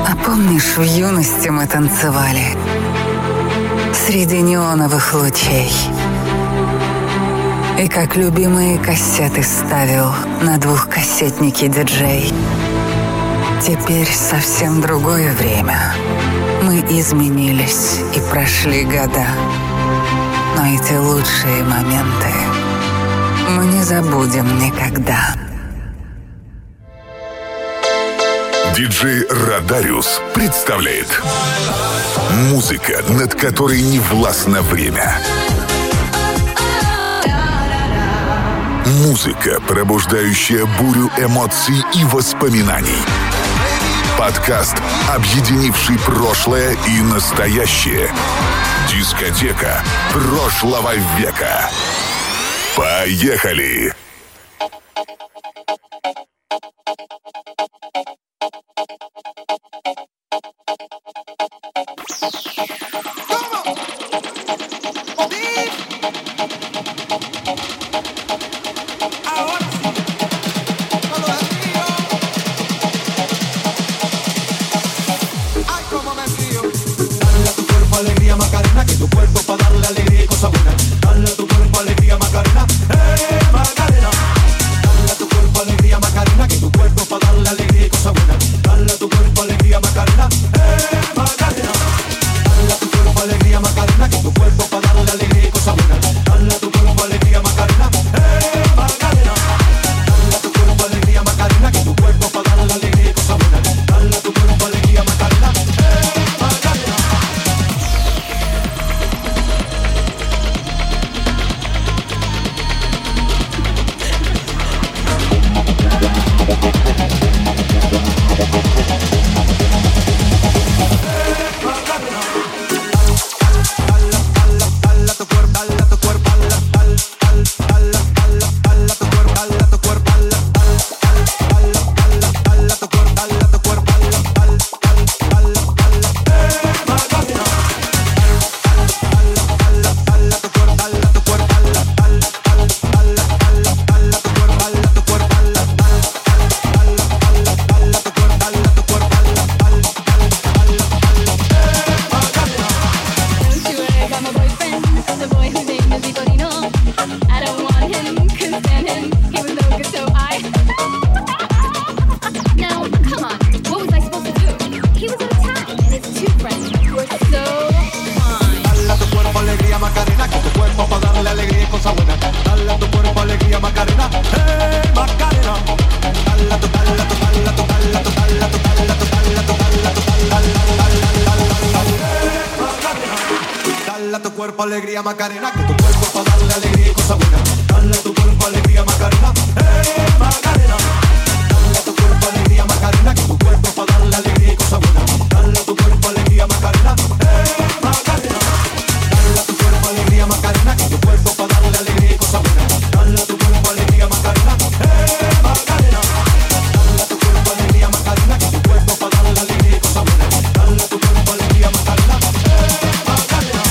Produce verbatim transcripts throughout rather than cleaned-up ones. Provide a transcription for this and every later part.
А помнишь, в юности мы танцевали среди неоновых лучей? И как любимые кассеты ставил на двухкассетнике диджей. Теперь совсем другое время. Мы изменились и прошли года. Но эти лучшие моменты мы не забудем никогда. Диджей Радариус представляет музыка, над которой не властно время. Музыка, пробуждающая бурю эмоций и воспоминаний. Подкаст, объединивший прошлое и настоящее. Дискотека прошлого века. Поехали! Alegría Macarena, que tu cuerpo para darle alegría y cosa buena. Dale a tu cuerpo alegría Macarena, hey Macarena. Dale a tu cuerpo alegría Macarena, que tu cuerpo para darle alegría y cosa buena. Dale a tu cuerpo alegría Macarena, hey Macarena. Dale a tu cuerpo alegría Macarena, que tu cuerpo para darle alegría y cosa buena. Dale a tu cuerpo alegría Macarena, hey Macarena. Dale a tu cuerpo alegría Macarena, que tu cuerpo para darle alegría y cosa buena. Dale a tu cuerpo alegría Macarena, hey Macarena.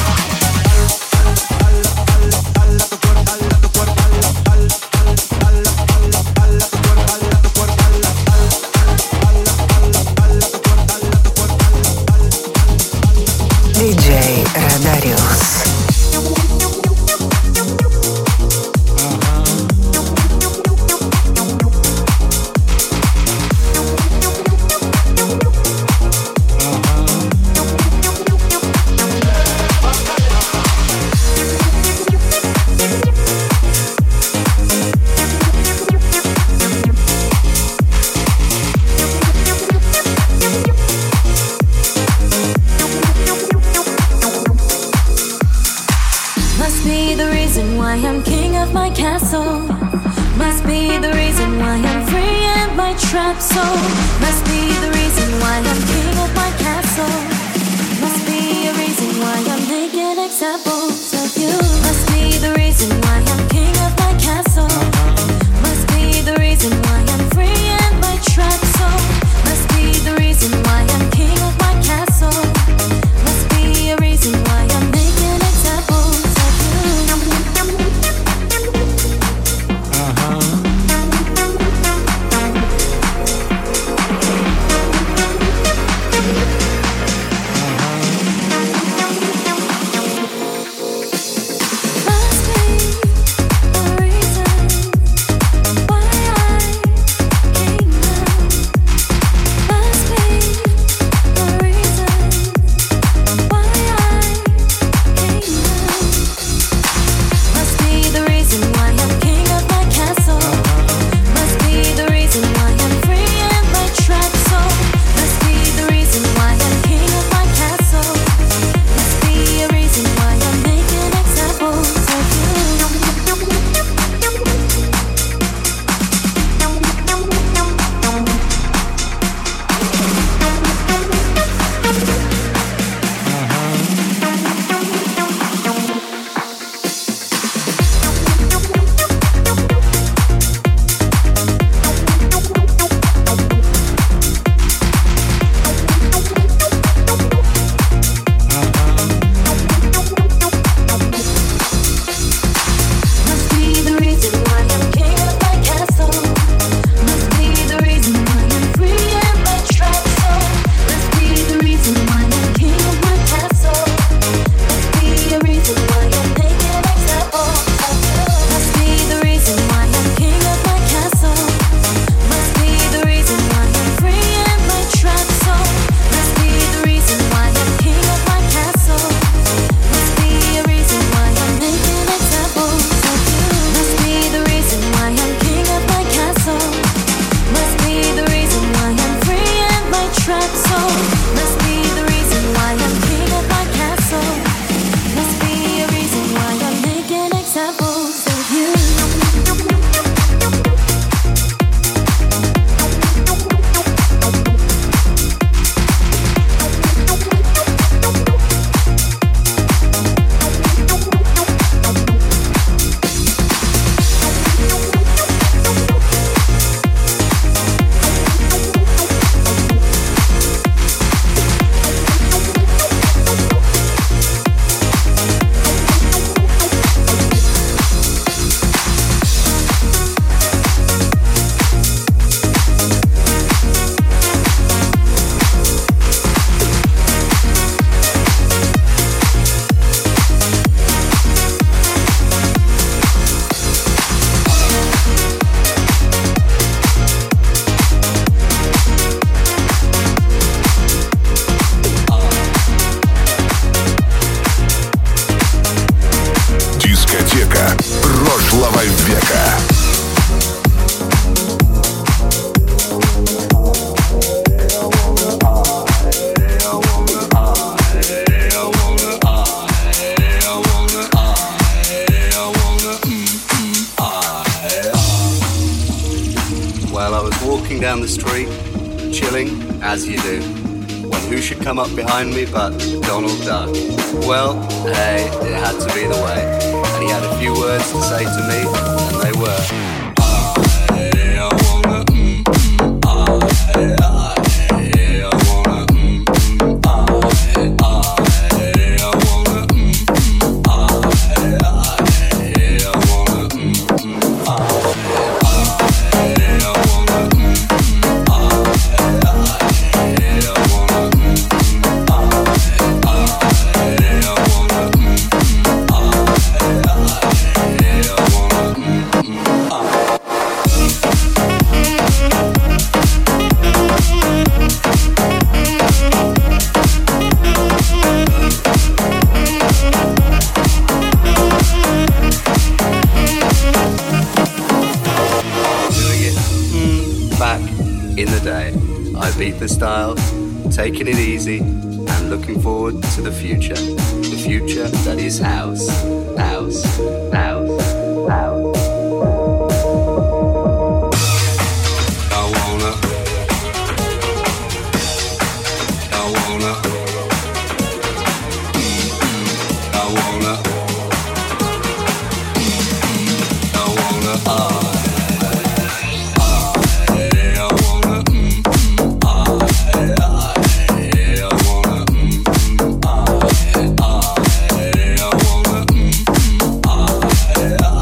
диджей Радариус. Trap soul must be the reason why I'm king of my castle. Must be a reason why I'm making examples of you. Must be the reason why I'm king of my castle. Must be the reason why I'm free in my trap soul. Must be the reason why I'm king of my castle. Must be a reason why I'm making examples of you. Uh-huh. trap soul. Must be the reason why I'm king of my castle. Must be a reason why I'm making examples of you. Прошлого века. Well, I was walking down the street, chilling, as you do, when who should come up behind me but Donald Duck. Well, hey, it had to be the way. And he had a few words to say to me, and they were, I, I wanna, mm, mm, I, I, I wanna, mm, mm, I, I, I wanna, mm, mm, I, I, I wanna, mm, mm, I, I wanna, mm, mm, I, I wanna, mm, mm, I, I wanna, mm, in the day. I beat the style, taking it easy, and looking forward to the future. The future that is house, house, house, house. I wanna, I wanna, mm-hmm. I wanna, mm-hmm. I wanna, ah. Yeah.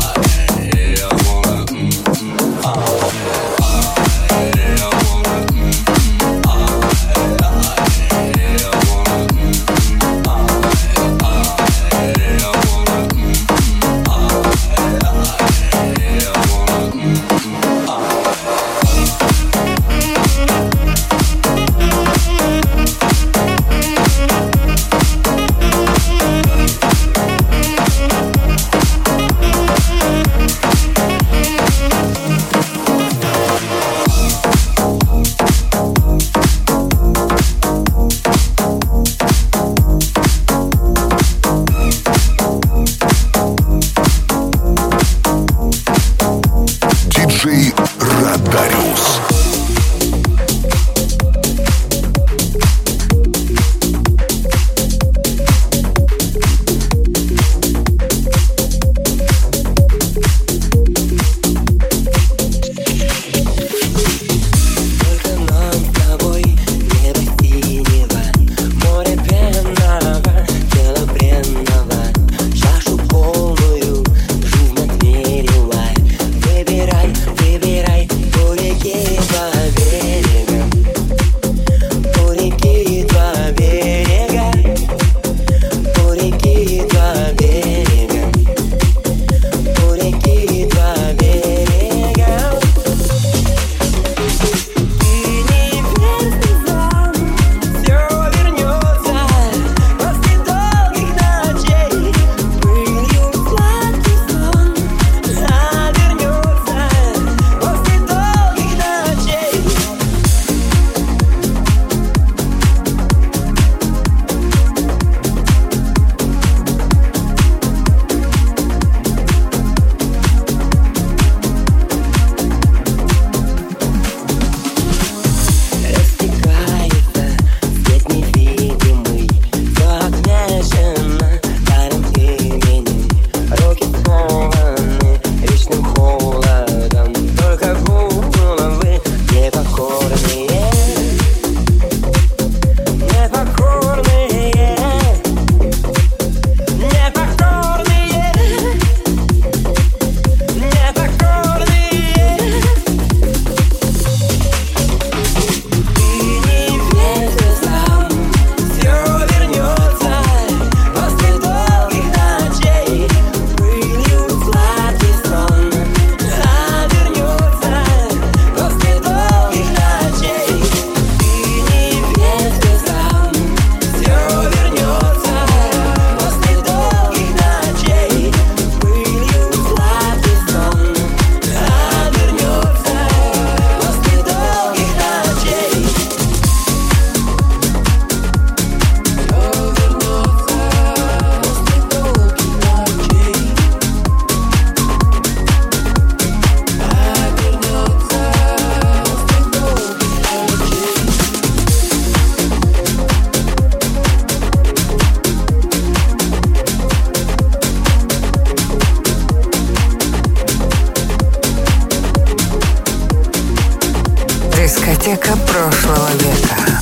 Дискотека прошлого века.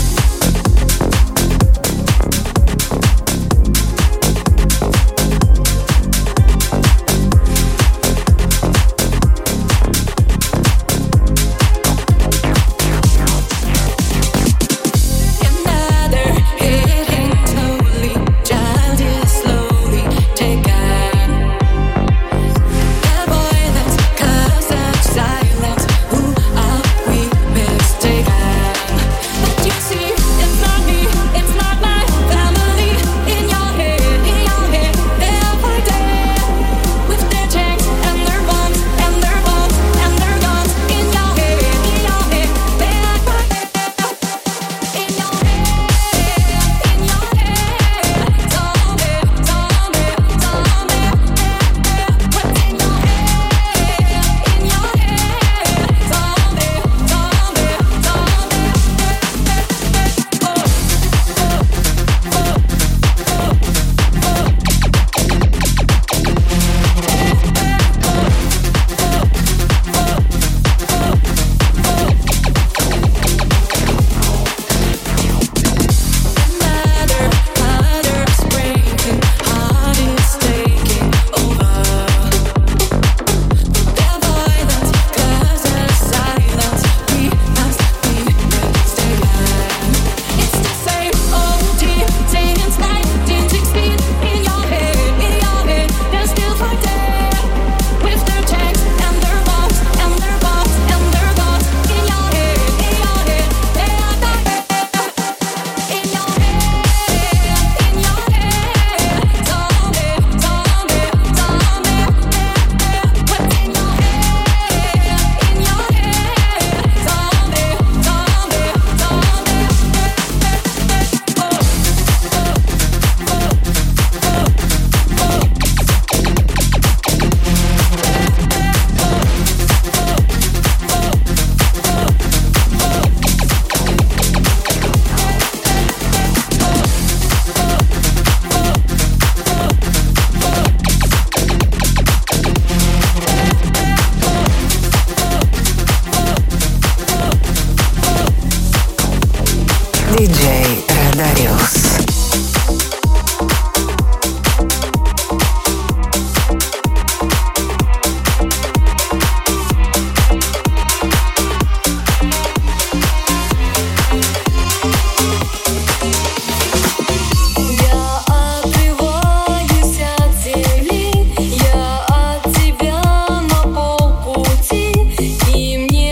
диджей Радариус.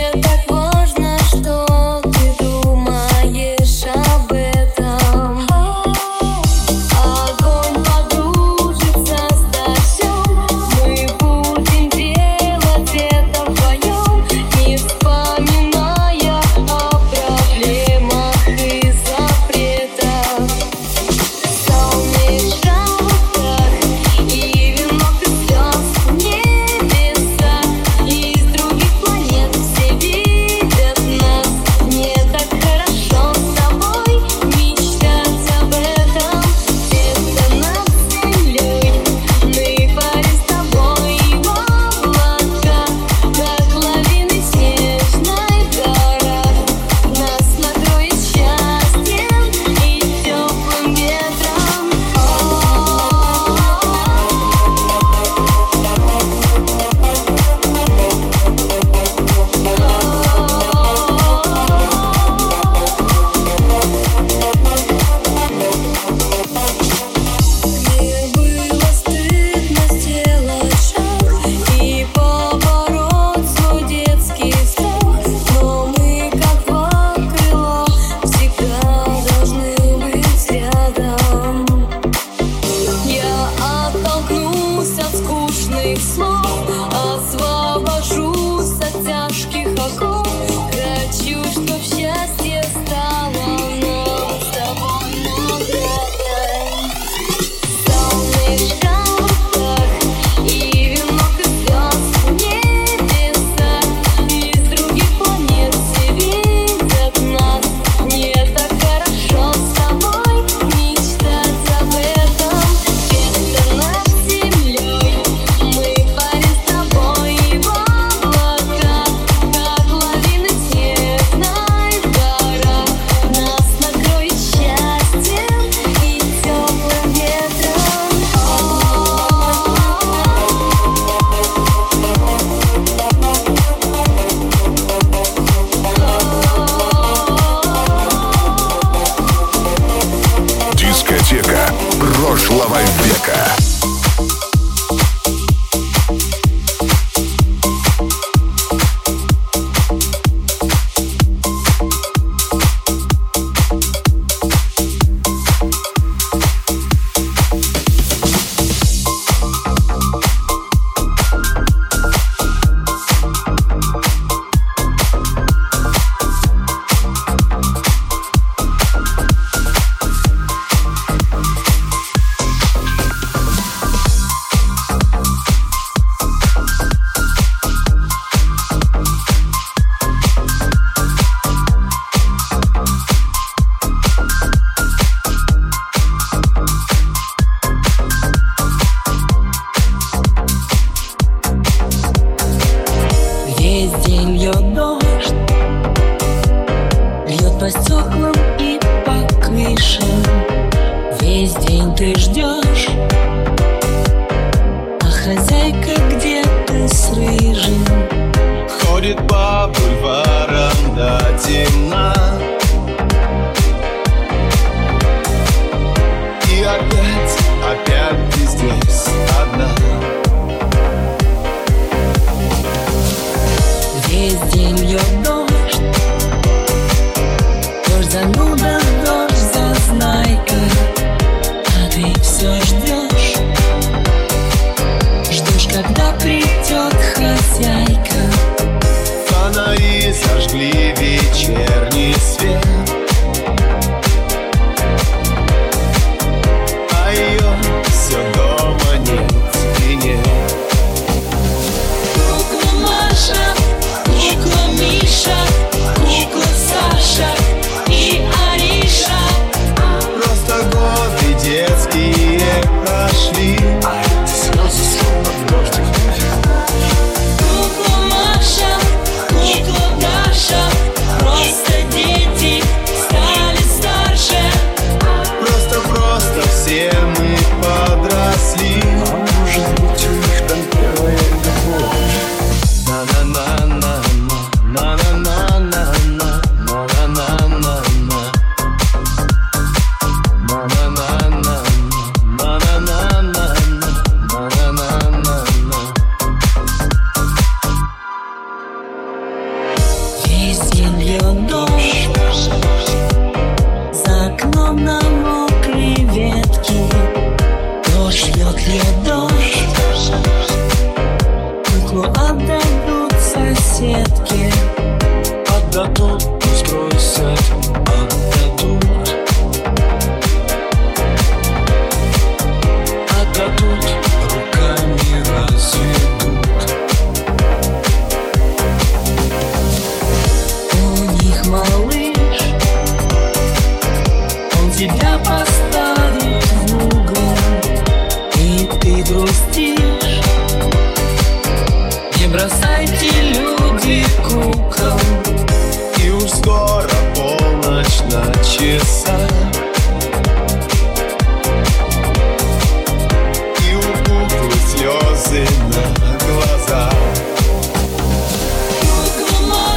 Об этом прошлого века.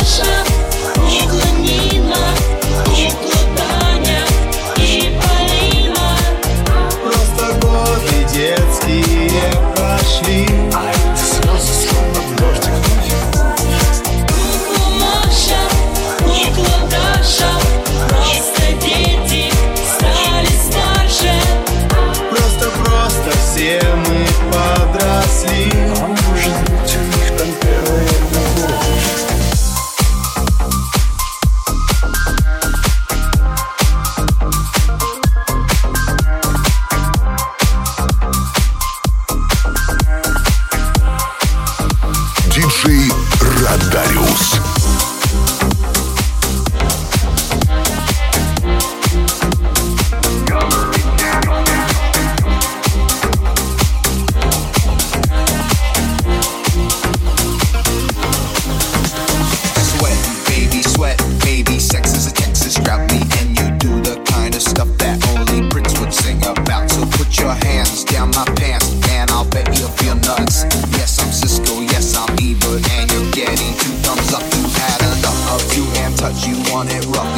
Маша, кукла Нина, кукла Таня и Полина.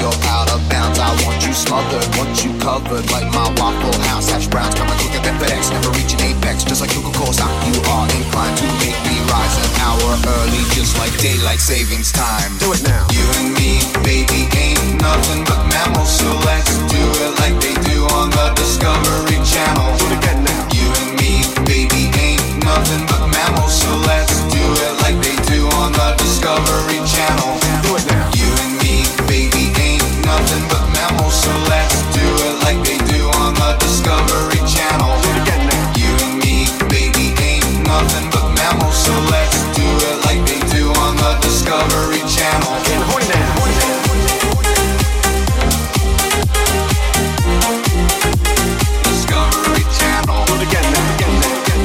you're out of bounds. I want you smothered, want you covered like my Waffle House hash browns. Coming quicker than FedEx, never reaching apex. Just like Coca-Cola stock, you are inclined to make me rise an hour early, just like daylight savings time. Do it now. You and me, baby, ain't nothing but mammals, so let's do it like they do on the Discovery Channel. Do it again now. You and me, baby, ain't nothing but mammals, so let's do it like they do on the Discovery Channel. Do it now. You and me, baby, ain't nothing but mammals, so let's do it like they do on the Discovery Channel. Do it again now. You and me, baby, ain't nothing but mammals, so let's do it like they do on the Discovery Channel. Getting horny now. Horny now. Discovery Channel. Do it again now. Again now. Again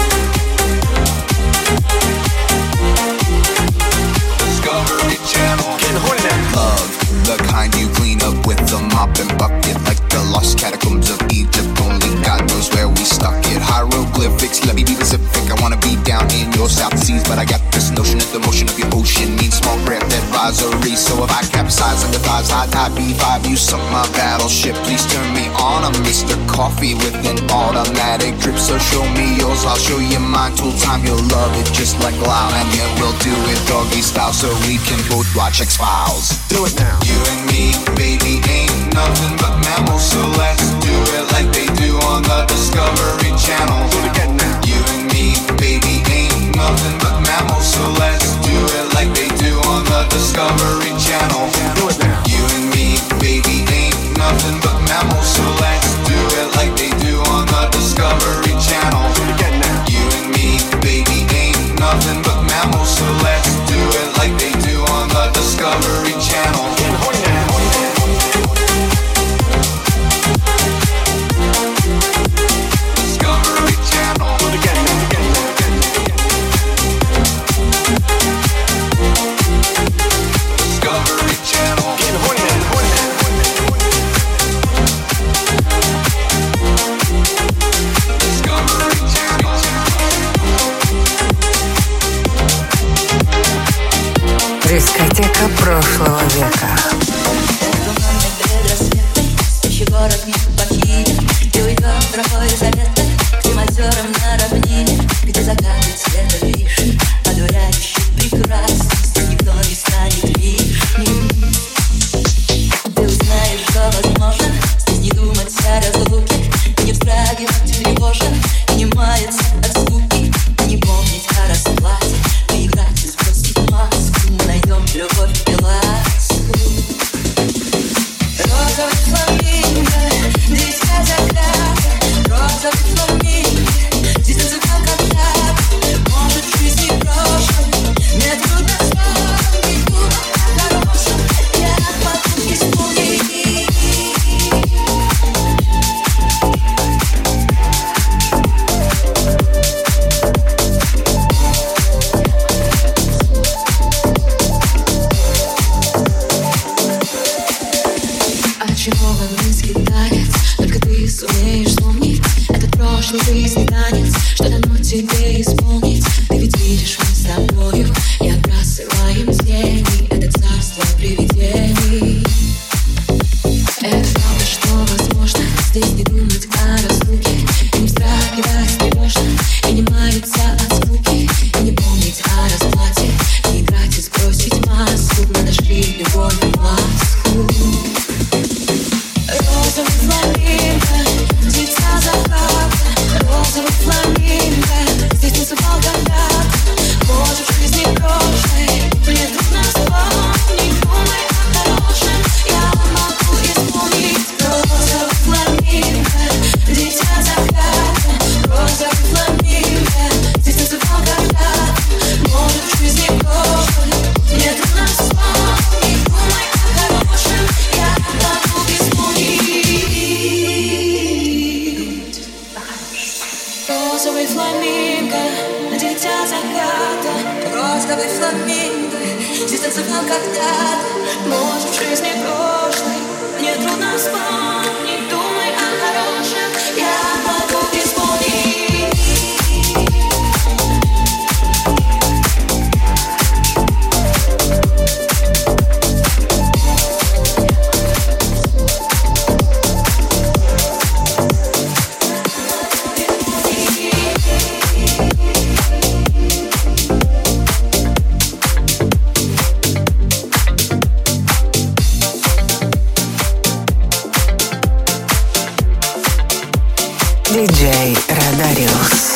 now. Discovery Channel. Getting horny now. Love, the kind you clean up with a mop and bucket, like the lost catacombs of Egypt. Only God knows where we stuck it. Hieroglyphics, let me be Pacific. I wanna be down in your South Seas, but I got this notion that the motion of your ocean means small craft advisory. So if I capsize under thighs, high tide B five, you sunk my battleship. Please turn me on. I'm Mister Coffee with an automatic drip. So show me yours, I'll show you mine. Tool time, you'll love it just like loud. And yeah, we'll do it doggy style so we can both watch X-Files. Do it now. You and me, baby, ain't nothing but mammals, so let's do it like they do on the Discovery Channel. Do it again now. You and me, baby, ain't nothing but mammals, so let's do it like they do on the Discovery Channel. Do it now. You and me, baby, ain't nothing but mammals, so let's do it like they do on the Discovery Channel. Do it again now. You and me, baby, ain't nothing but mammals, so let's do it like they do on the Discovery Channel. Getting horny now. Horny now. Discovery Channel. Do it again now. Again now. Again now. Discovery Channel. Getting horny now. Horny now. Horny now. Discovery Channel. Дискотека прошлого века. Спящий город не покинет, и уйдет тропой заветной к тем озерам на равнине, где закаты цвета вишни, одуряющий прекрасный, здесь никто не станет лишним. Ты узнаешь, что возможно, здесь не думать о разлуке, и не вздрагивать тревожно, и не маяться от скуки, и не помнить о расплате, и играть и сбросить маску. Мы найдем любовь и ласку. Розовый фламинго, дитя заката. Розовый фламинго, здесь танцевал когда-то. Может, в жизни прошлой мне трудно вспомнить, думать о хорошем я могу исполнить. Очарованный танец, только ты сумеешь вспомнить этот прошлый жизни танец, что дано тебе исполнить. Ты ведь видишь, мы с тобою и отбрасываем тени, это царство привидений. Это правда, что возможно здесь не думать о разлуке, и не вздрагивать тревожно, и не маяться от скуки, и не помнить о расплате, не играть и сбросить маску. Мы нашли любовь и ласку. Розовый фламинго, дитя заката. Розовый фламинго, здесь танцевал когда-то. Может, в жизни прошлой мне трудно вспомнить, думай о хорошем я могу исполнить. Розовый фламинго, дитя заката. Розовый фламинго, здесь танцевал когда-то. Может, в жизни прошлой мне трудно вспомнить, думай о хорошем я могу исполнить. Розовый фламинго, дитя заката. Розовый фламинго, здесь танцевал когда-то. Может, в жизни прошлой мне трудно вспомнить, думай о хорошем я могу исполнить. диджей Радариус.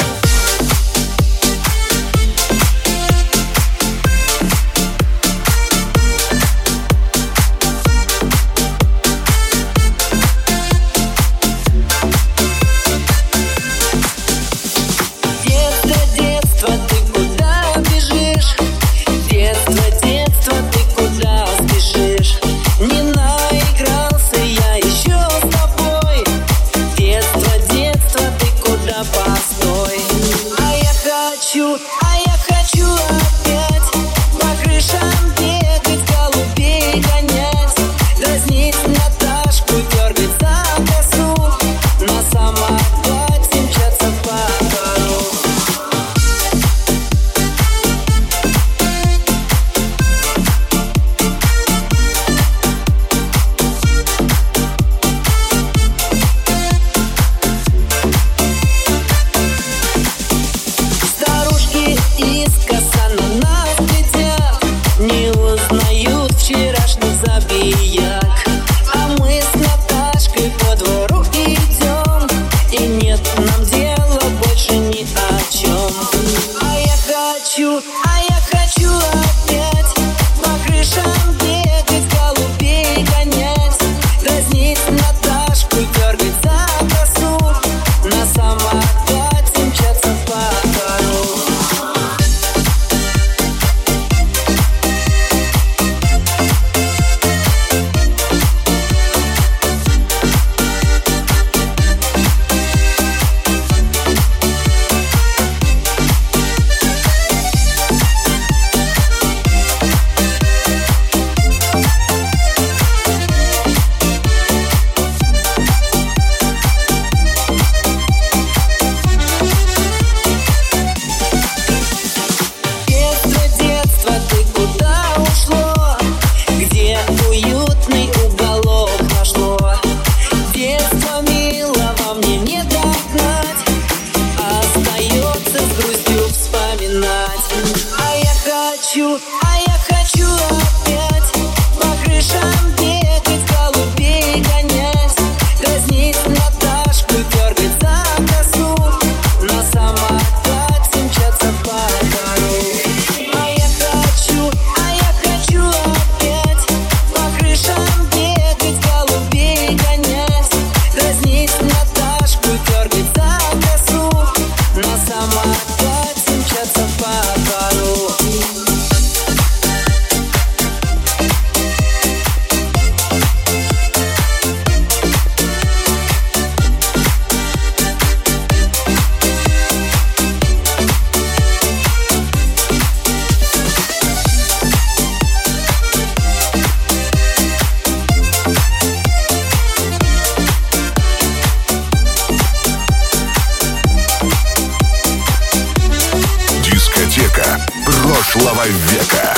Прошлого века.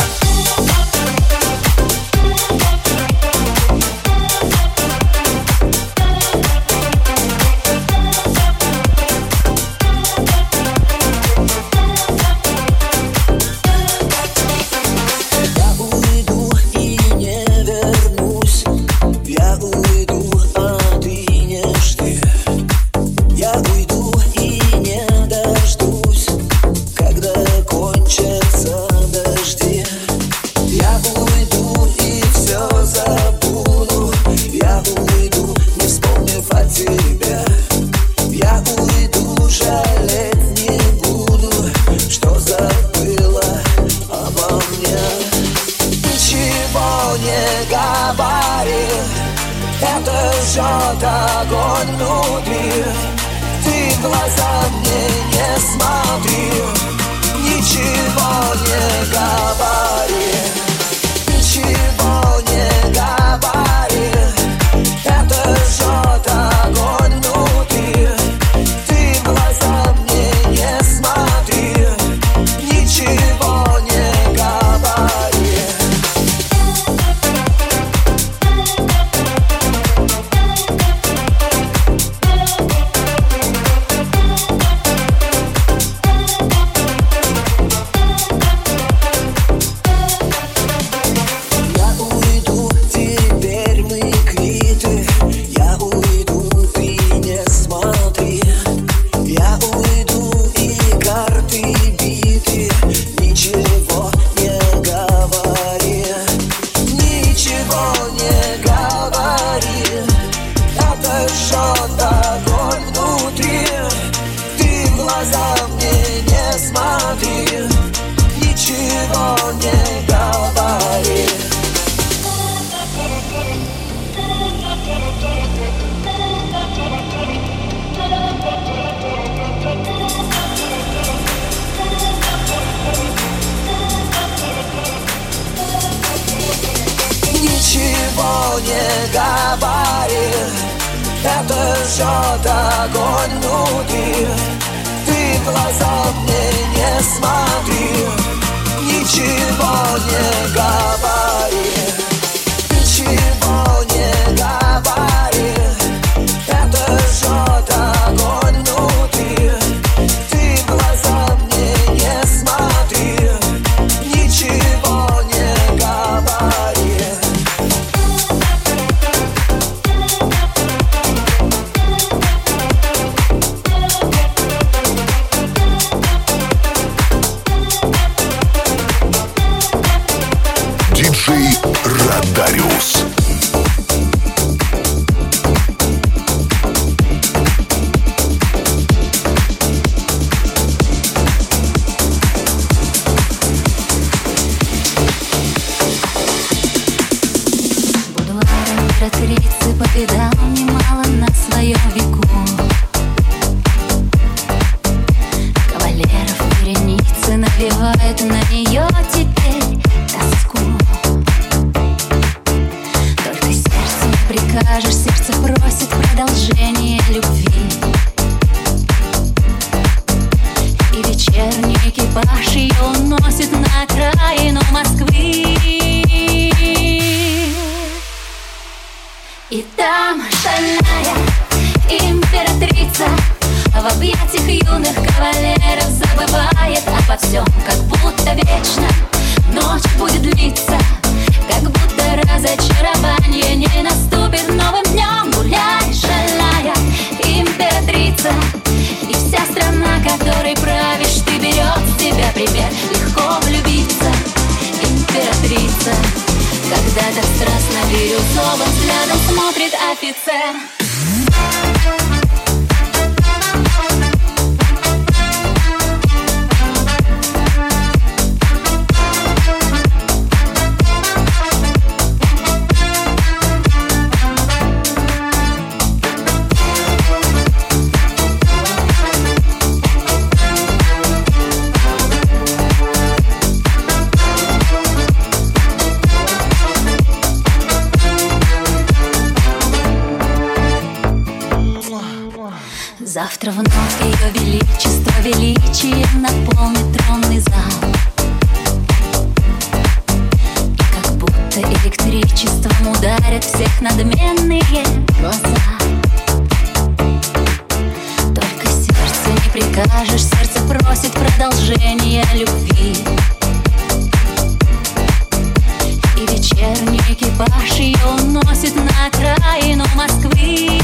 говори, это жжет огонь внутри. Ты в глаза мне не смотри, ничего не говори, ничего не говори, это жжет огонь внутри. Ты в глаза мне не смотри, ничего не говори. Диджей Радариус. Императрицы повидал немало на своем веку. Кавалеров вереницы навевают на нее теперь тоску. Только сердцу не прикажешь, сердце просит продолжения любви. И вечерний экипаж ее уносит на окраину Москвы. И там шальная императрица в объятиях юных кавалеров забывает обо всем, как будто вечно ночь будет длиться, как будто разочарование не наступит новым днем. Гуляй, шальная императрица, и вся страна, которой правишь ты, берет с тебя пример. Легко влюбиться, императрица, когда так страстно бирюзовым взглядом смотрит офицер. Завтра вновь ее величество величием наполнит тронный зал. И как будто электричеством ударят всех надменные глаза. Только сердцу не прикажешь, сердце просит продолжения любви. И вечерний экипаж ее уносит на окраину Москвы.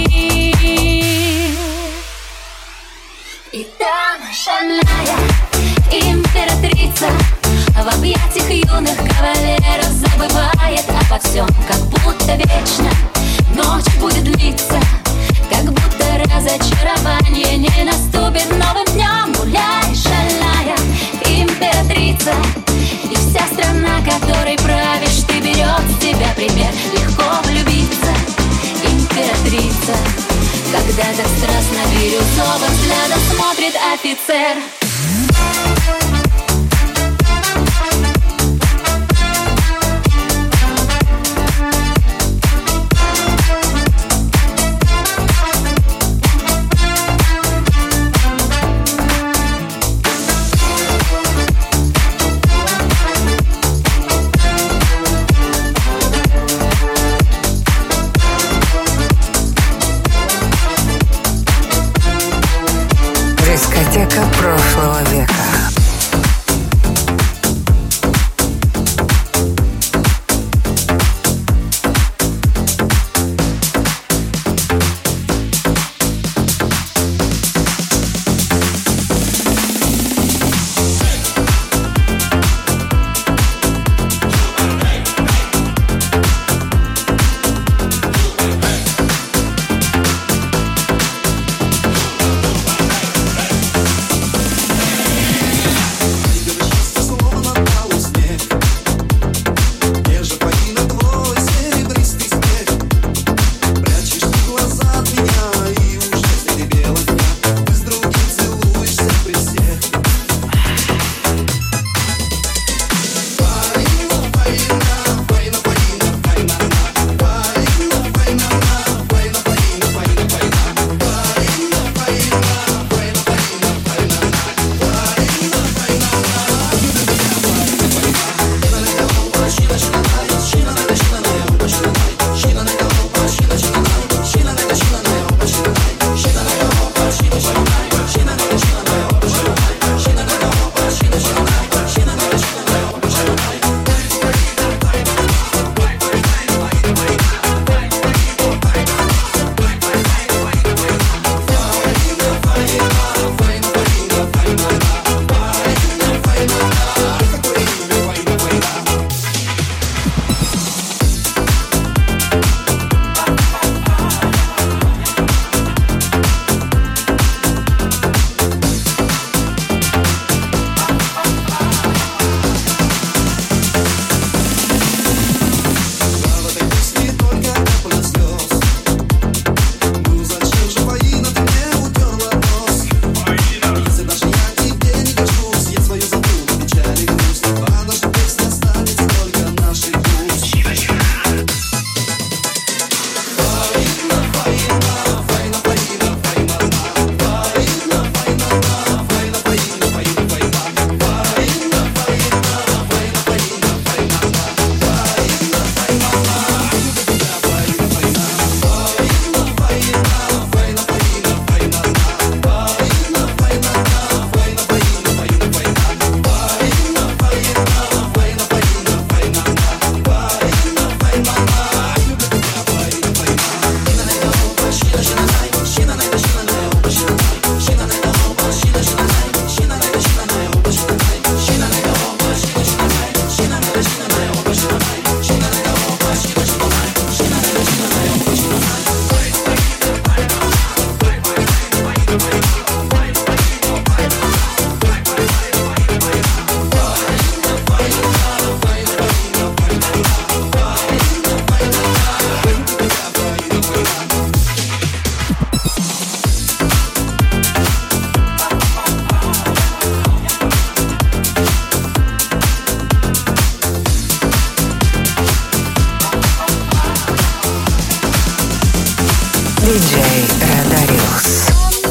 И там шальная императрица в объятиях юных кавалеров забывает обо всем, как будто вечно ночь будет длиться, как будто разочарование не наступит новым днем. Гуляй, шальная императрица, и вся страна, которой правишь ты, берет с тебя пример. Легко влюбиться, императрица, когда так страстно бирюзовым взглядом смотрит офицер. Дискотека прошлого. диджей Радариус.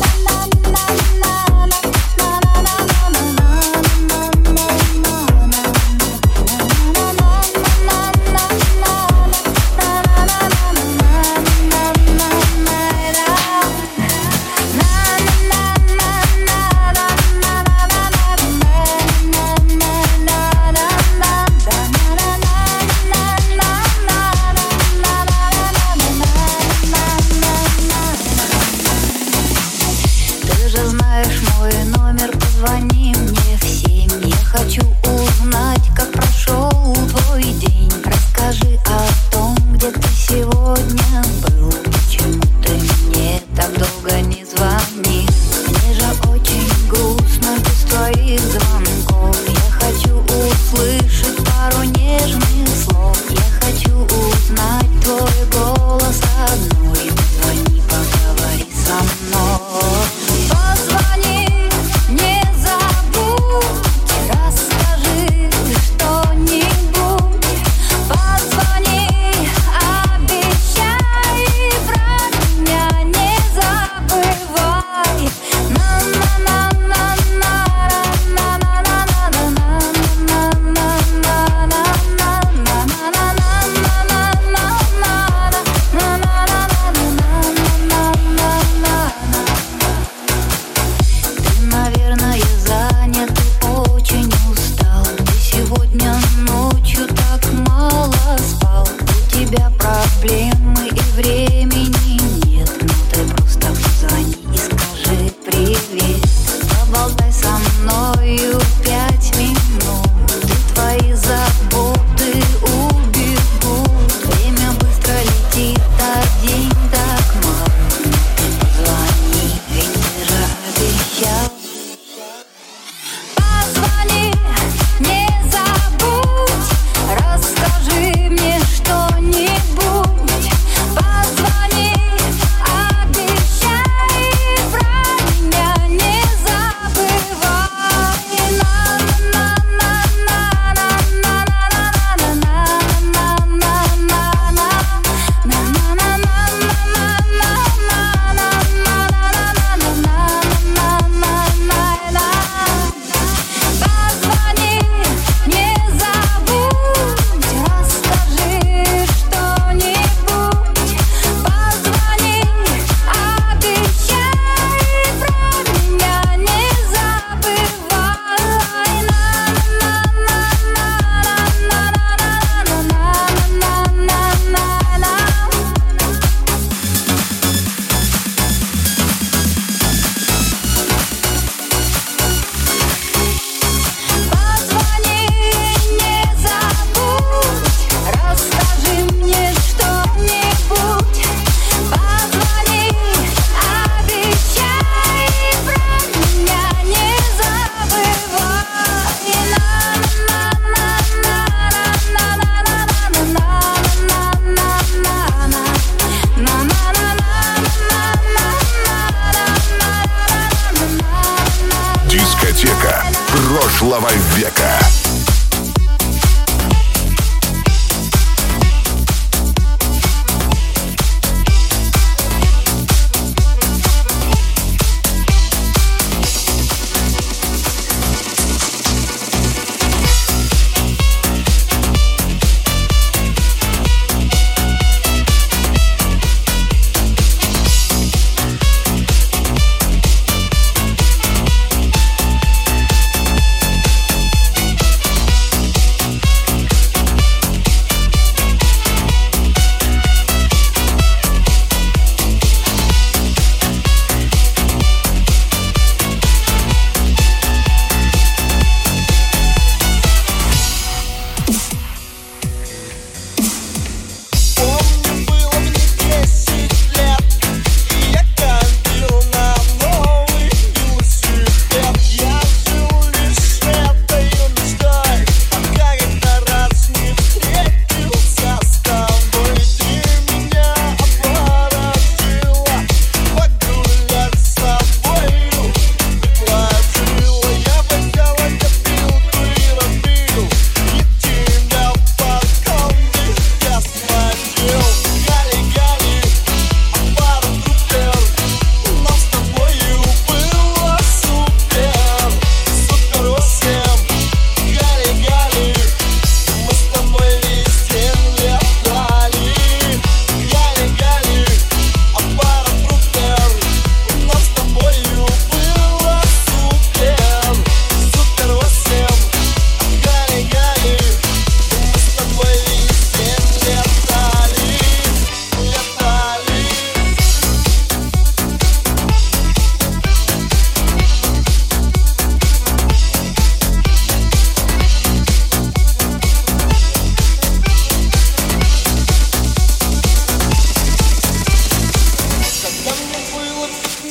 Прошлого века.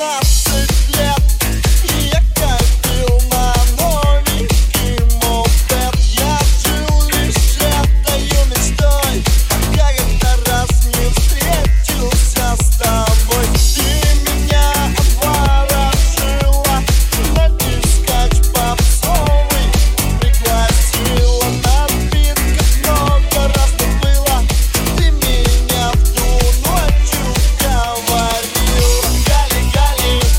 Гали, Гали,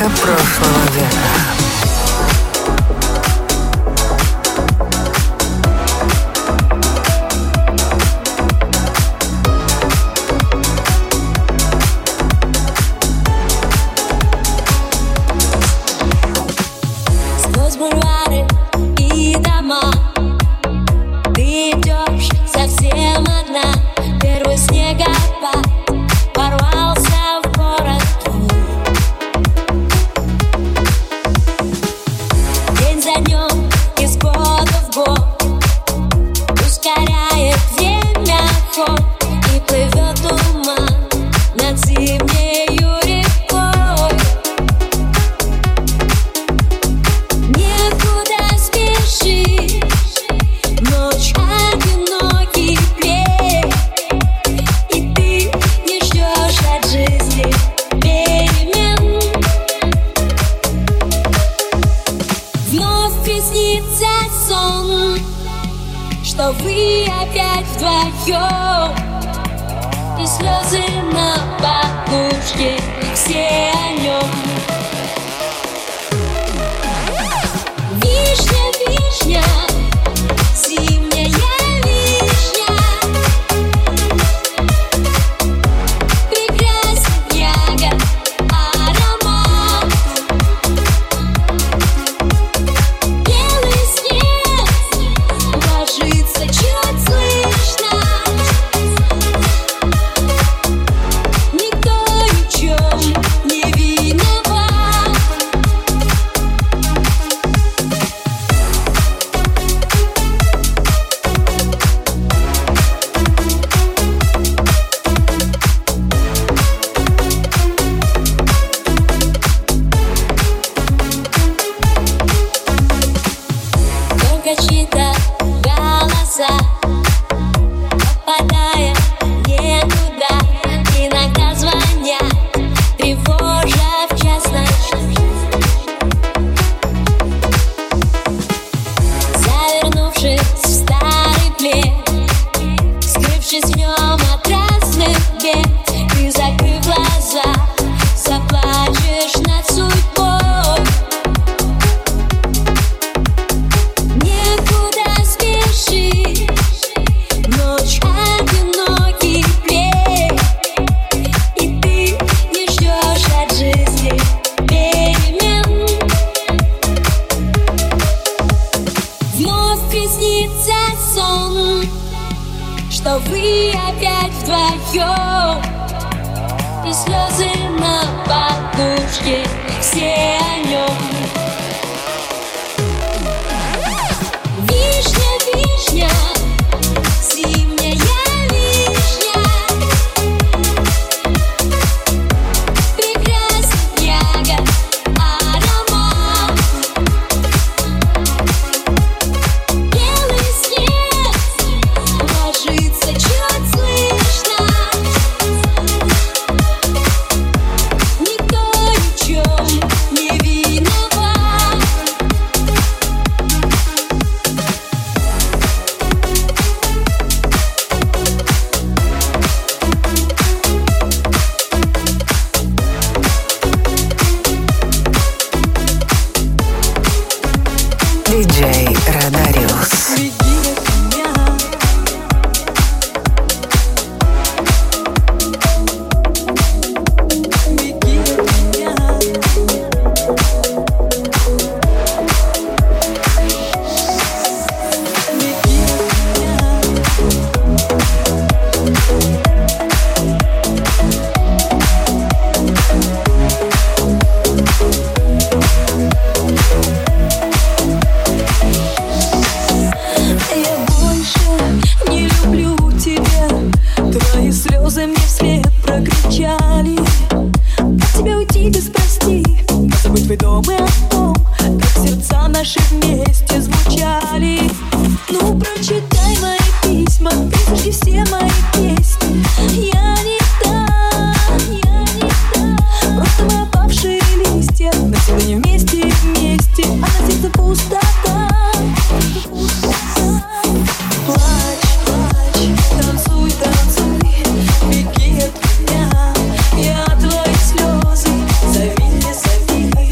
Музыка прошлого века. диджей Радариус. Я твои слезы, зови, не зови.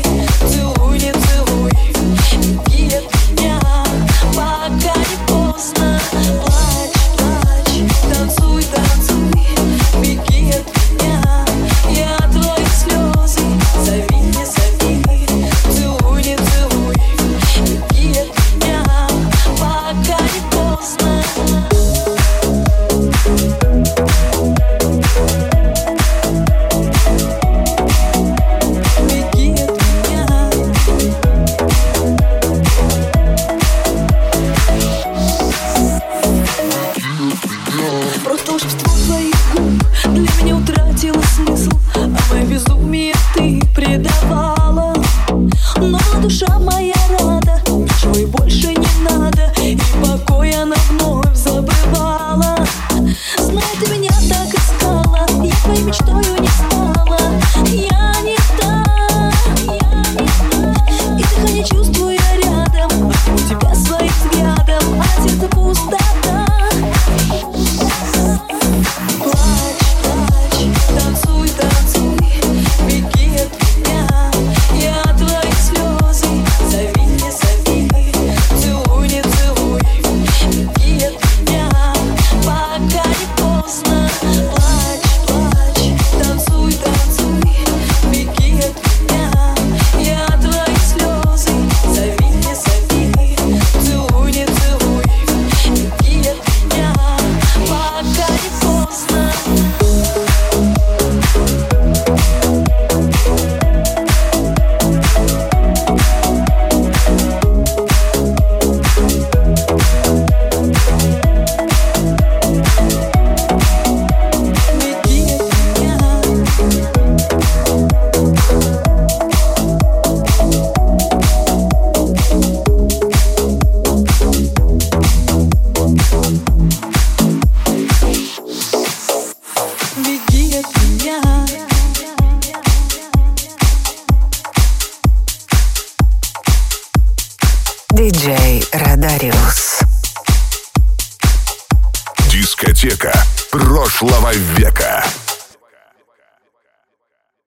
диджей Радариус. Дискотека прошлого века.